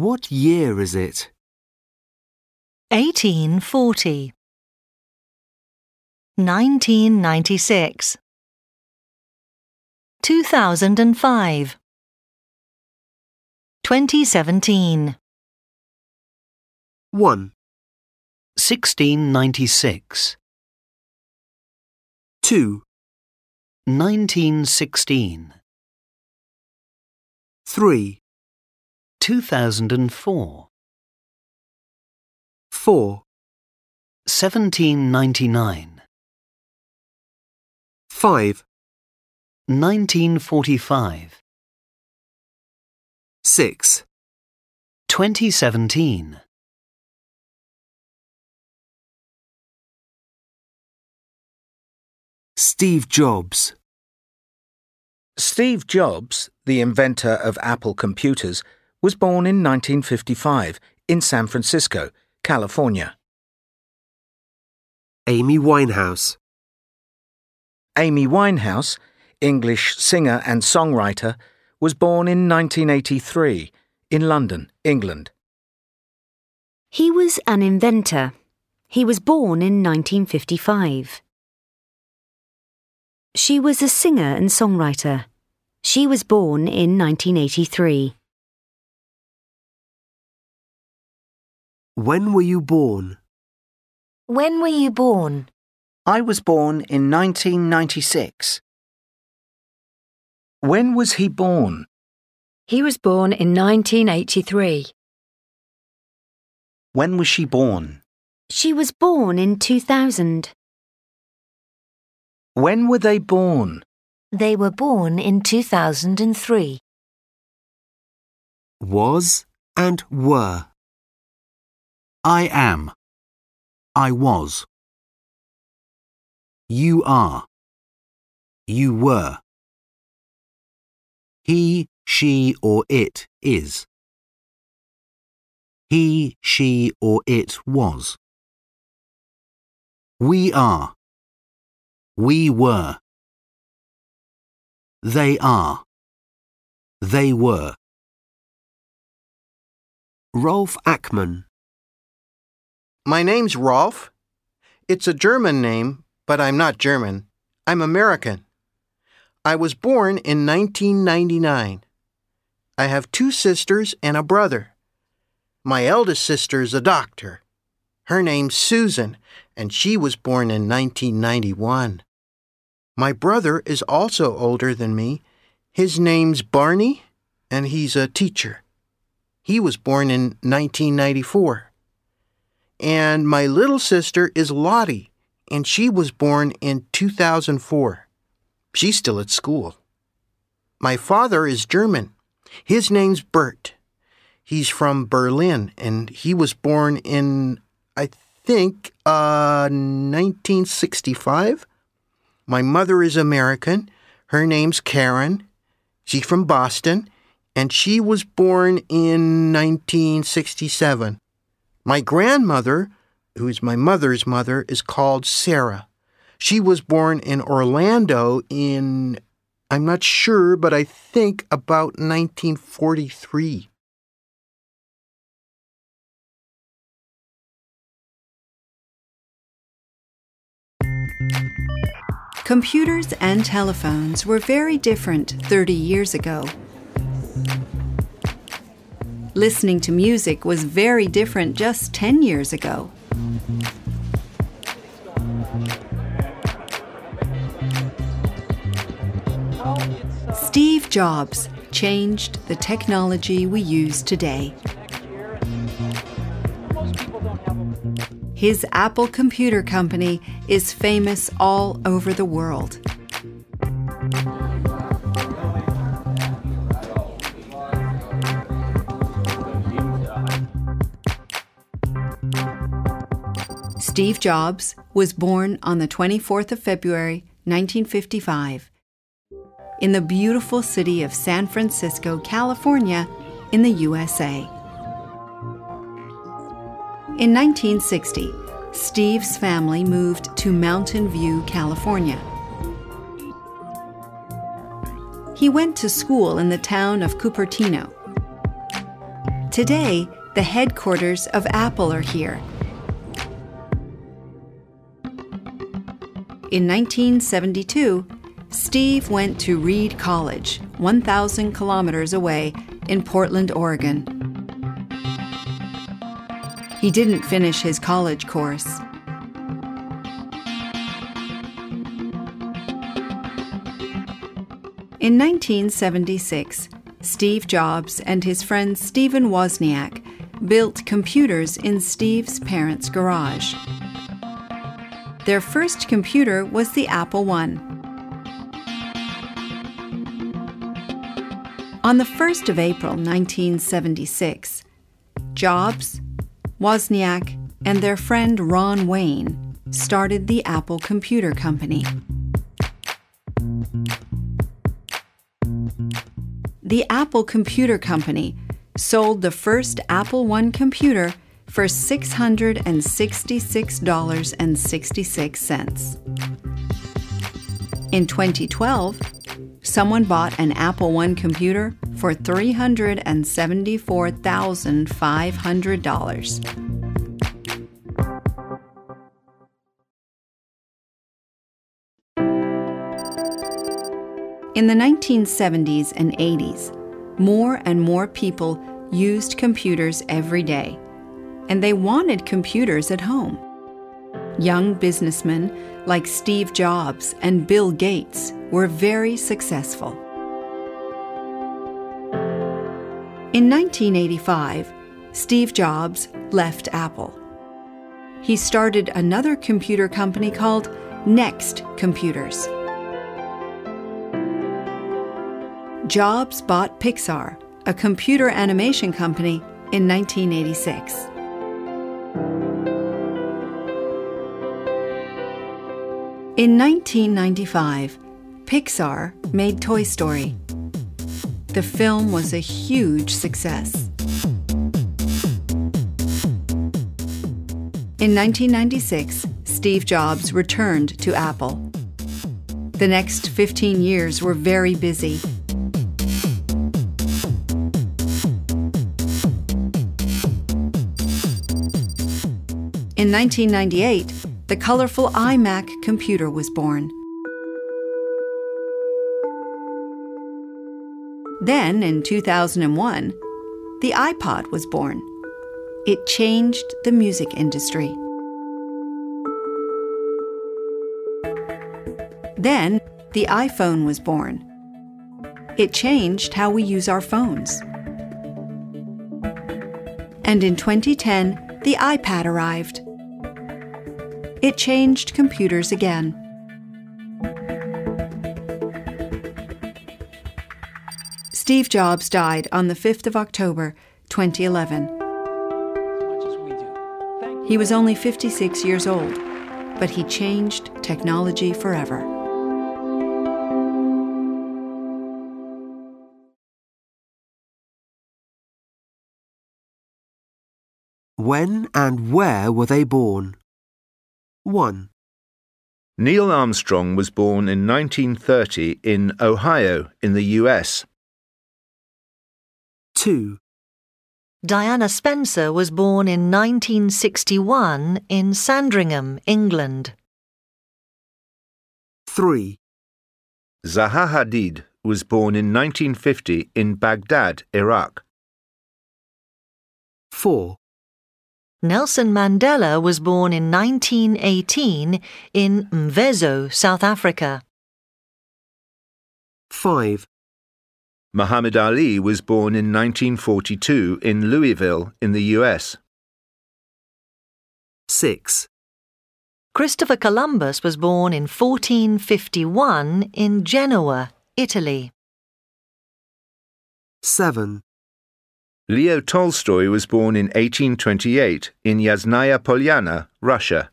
What year is it? 1840 1996 2005 2017 1, 1696, 2, 1916, 3, 2004, 4, 1799, 5, 1945, 6, 2017. Steve Jobs. Steve Jobs, the inventor of Apple computers, was born in 1955 in San Francisco, California. Amy Winehouse. Amy Winehouse, English singer and songwriter, was born in 1983 in London, England. He was an inventor. He was born in 1955. She was a singer and songwriter. She was born in 1983. When were you born? When were you born? I was born in 1996. When was he born? He was born in 1983. When was she born? She was born in 2000. When were they born? They were born in 2003. Was and were. I am. I was. You are. You were. He, she, or it is. He, she, or it was. We are. We were. They are. They were. Rolf Ackman. My name's Rolf. It's a German name, but I'm not German. I'm American. I was born in 1999. I have 2 sisters and a brother. My eldest sister's a doctor. Her name's Susan, and she was born in 1991. My brother is also older than me. His name's Barney, and he's a teacher. He was born in 1994. And my little sister is Lottie, and she was born in 2004. She's still at school. My father is German. His name's Bert. He's from Berlin, and he was born in, I think, 1965. My mother is American. Her name's Karen. She's from Boston, and she was born in 1967. My grandmother, who is my mother's mother, is called Sarah. She was born in Orlando in, I'm not sure, but I think about 1943. Computers and telephones were very different 30 years ago. Listening to music was very different just 10 years ago. Steve Jobs changed the technology we use today. His Apple Computer Company is famous all over the world. Steve Jobs was born on the 24th of February, 1955, in the beautiful city of San Francisco, California, in the USA. In 1960, Steve's family moved to Mountain View, California. He went to school in the town of Cupertino. Today, the headquarters of Apple are here. In 1972, Steve went to Reed College, 1,000 kilometers away in Portland, Oregon. He didn't finish his college course. In 1976, Steve Jobs and his friend Stephen Wozniak built computers in Steve's parents' garage. Their first computer was the Apple I. On the 1st of April 1976, Jobs, Wozniak, and their friend Ron Wayne started the Apple Computer Company. The Apple Computer Company sold the first Apple I computer for $666.66. In 2012, someone bought an Apple I computer for $374,500. In the 1970s and 80s, more and more people used computers every day, and they wanted computers at home. Young businessmen like Steve Jobs and Bill Gates were very successful. In 1985, Steve Jobs left Apple. He started another computer company called Next Computers. Jobs bought Pixar, a computer animation company, in 1986. In 1995, Pixar made Toy Story. The film was a huge success. In 1996, Steve Jobs returned to Apple. The next 15 years were very busy. In 1998, the colorful iMac computer was born. Then, in 2001, the iPod was born. It changed the music industry. Then, the iPhone was born. It changed how we use our phones. And in 2010, the iPad arrived. It changed computers again. Steve Jobs died on the 5th of October, 2011. He was only 56 years old, but he changed technology forever. When and where were they born? 1, Neil Armstrong was born in 1930 in Ohio, in the US. 2, Diana Spencer was born in 1961 in Sandringham, England. 3, Zaha Hadid was born in 1950 in Baghdad, Iraq. 4, Nelson Mandela was born in 1918 in Mvezo, South Africa. 5, Muhammad Ali was born in 1942 in Louisville, in the US. 6, Christopher Columbus was born in 1451 in Genoa, Italy. 7, Leo Tolstoy was born in 1828 in Yasnaya Polyana, Russia.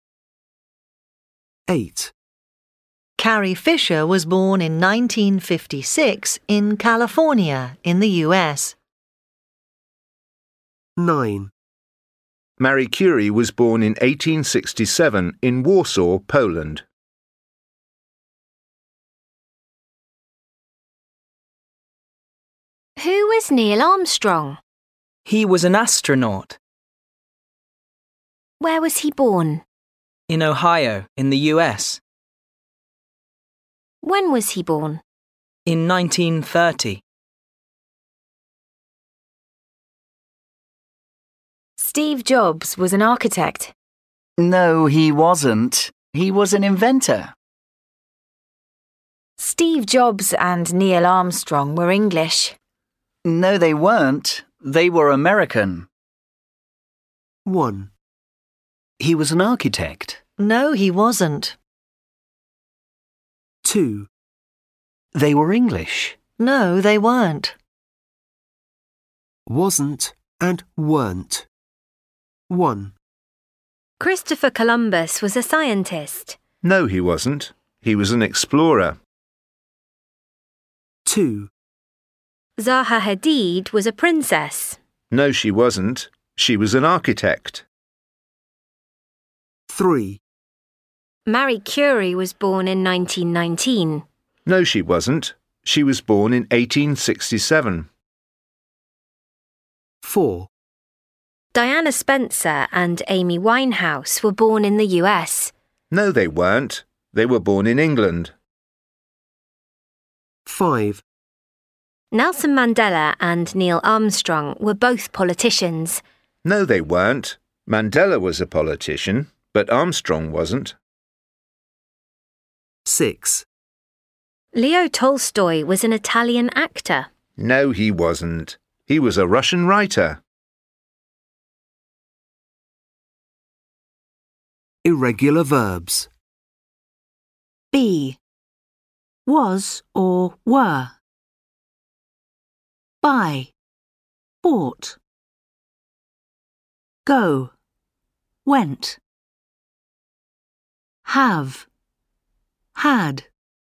8, Carrie Fisher was born in 1956 in California, in the US. 9, Marie Curie was born in 1867 in Warsaw, Poland. Who was Neil Armstrong? He was an astronaut. Where was he born? In Ohio, in the US. When was he born? In 1930. Steve Jobs was an architect. No, he wasn't. He was an inventor. Steve Jobs and Neil Armstrong were English. No, they weren't. They were American. 1, He was an architect. No, he wasn't. 2, They were English. No, they weren't. wasn't and weren't. 1, Christopher Columbus was a scientist. No, he wasn't. He was an explorer. 2, Zaha Hadid was a princess. No, she wasn't. She was an architect. 3, Marie Curie was born in 1919. No, she wasn't. She was born in 1867. 4, Diana Spencer and Amy Winehouse were born in the US. No, they weren't. They were born in England. 5, Nelson Mandela and Neil Armstrong were both politicians. No, they weren't. Mandela was a politician, but Armstrong wasn't. 6, Leo Tolstoy was an Italian actor. No, he wasn't. He was a Russian writer. Irregular verbs. Be. Was or were. Buy. Bought. Go. Went. Have. Had.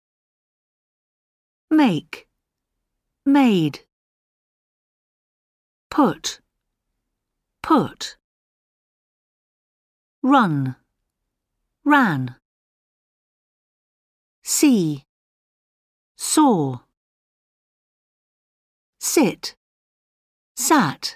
Make. Made. Put. Put. Run. Ran. See. Saw. Sit. Sat.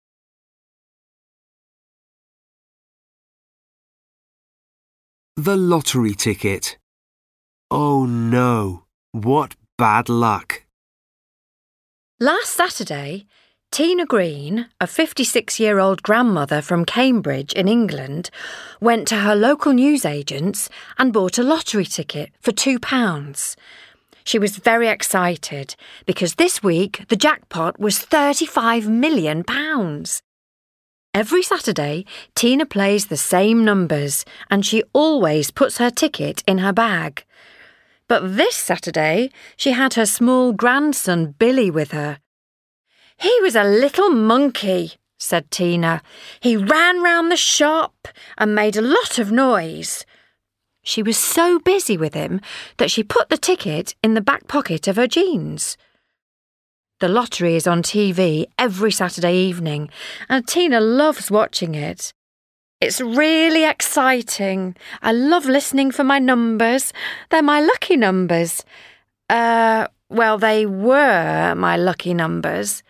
The lottery ticket. Oh no, what bad luck. Last Saturday, Tina Green, a 56-year-old grandmother from Cambridge in England, went to her local newsagents and bought a lottery ticket for £2. She was very excited because this week the jackpot was £35 million. Every Saturday, Tina plays the same numbers and she always puts her ticket in her bag. But this Saturday, she had her small grandson Billy with her. "He was a little monkey," said Tina. "He ran round the shop and made a lot of noise." She was so busy with him that she put the ticket in the back pocket of her jeans. The lottery is on TV every Saturday evening, and Tina loves watching it. "It's really exciting. I love listening for my numbers. They're my lucky numbers. Well, they were my lucky numbers."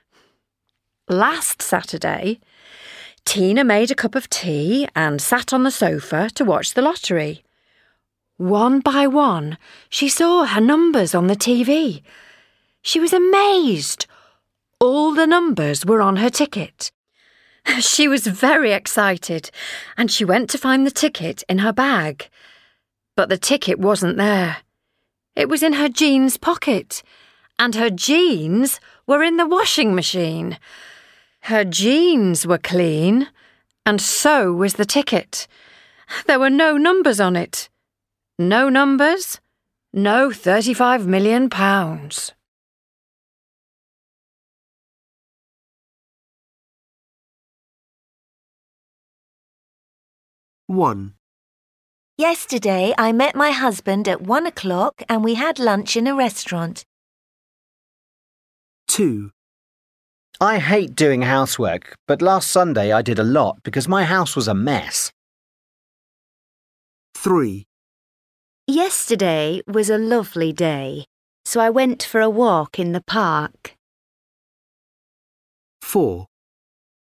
Last Saturday, Tina made a cup of tea and sat on the sofa to watch the lottery. One by one, she saw her numbers on the TV. She was amazed. All the numbers were on her ticket. She was very excited, and she went to find the ticket in her bag. But the ticket wasn't there. It was in her jeans pocket, and her jeans were in the washing machine. Her jeans were clean, and so was the ticket. There were no numbers on it. No numbers, no £35 million. 1, Yesterday I met my husband at 1 o'clock and we had lunch in a restaurant. 2, I hate doing housework, but last Sunday I did a lot because my house was a mess. 3, Yesterday was a lovely day, so I went for a walk in the park. 4,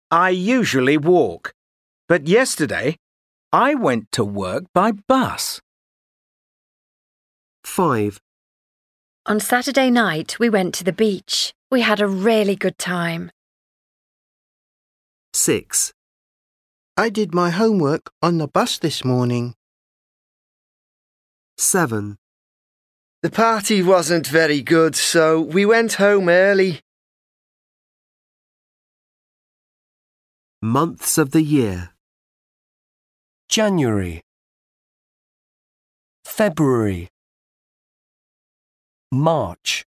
I usually walk, but yesterday I went to work by bus. 5. On Saturday night, we went to the beach. We had a really good time. 6. I did my homework on the bus this morning. 7. The party wasn't very good, so we went home early. Months of the year. January, February, March,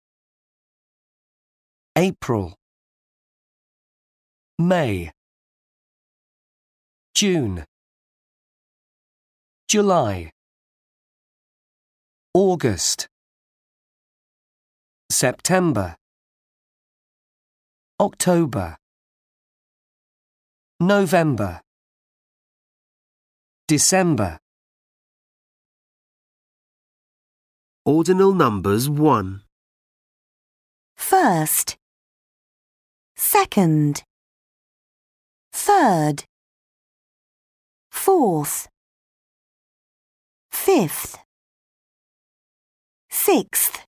April, May, June, July, August, September, October, November, December. Ordinal numbers 1. First, second, third, fourth, fifth, sixth,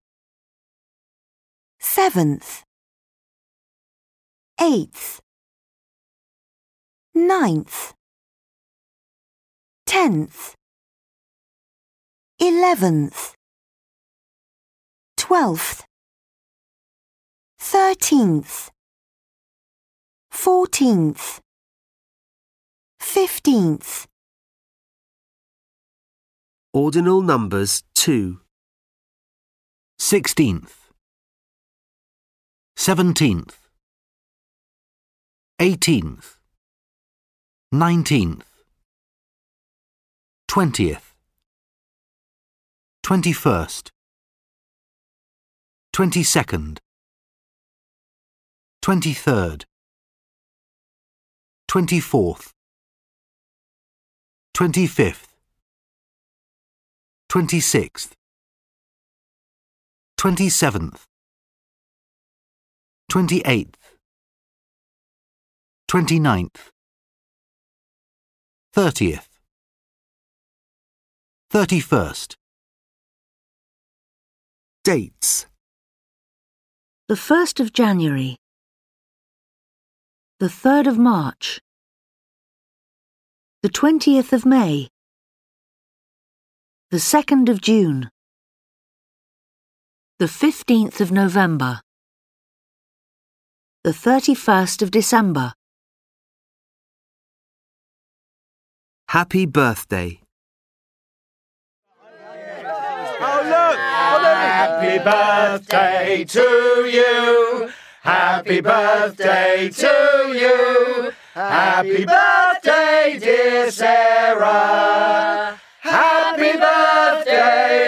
seventh, eighth, ninth, 10th, 11th, 12th, 13th, 14th, 15th. Ordinal numbers 2. 16th, 17th, 18th, 19th, 20th, 21st, 22nd, 23rd, 24th, 25th, 26th, 27th, 28th, 29th, 30th, 31st. Dates. The 1st of January. The 3rd of March. The 20th of May. The 2nd of June. The 15th of November. The 31st of December. Happy birthday. Oh, look! Happy birthday to you. Happy birthday to you. Happy birthday, dear Sarah. Happy birthday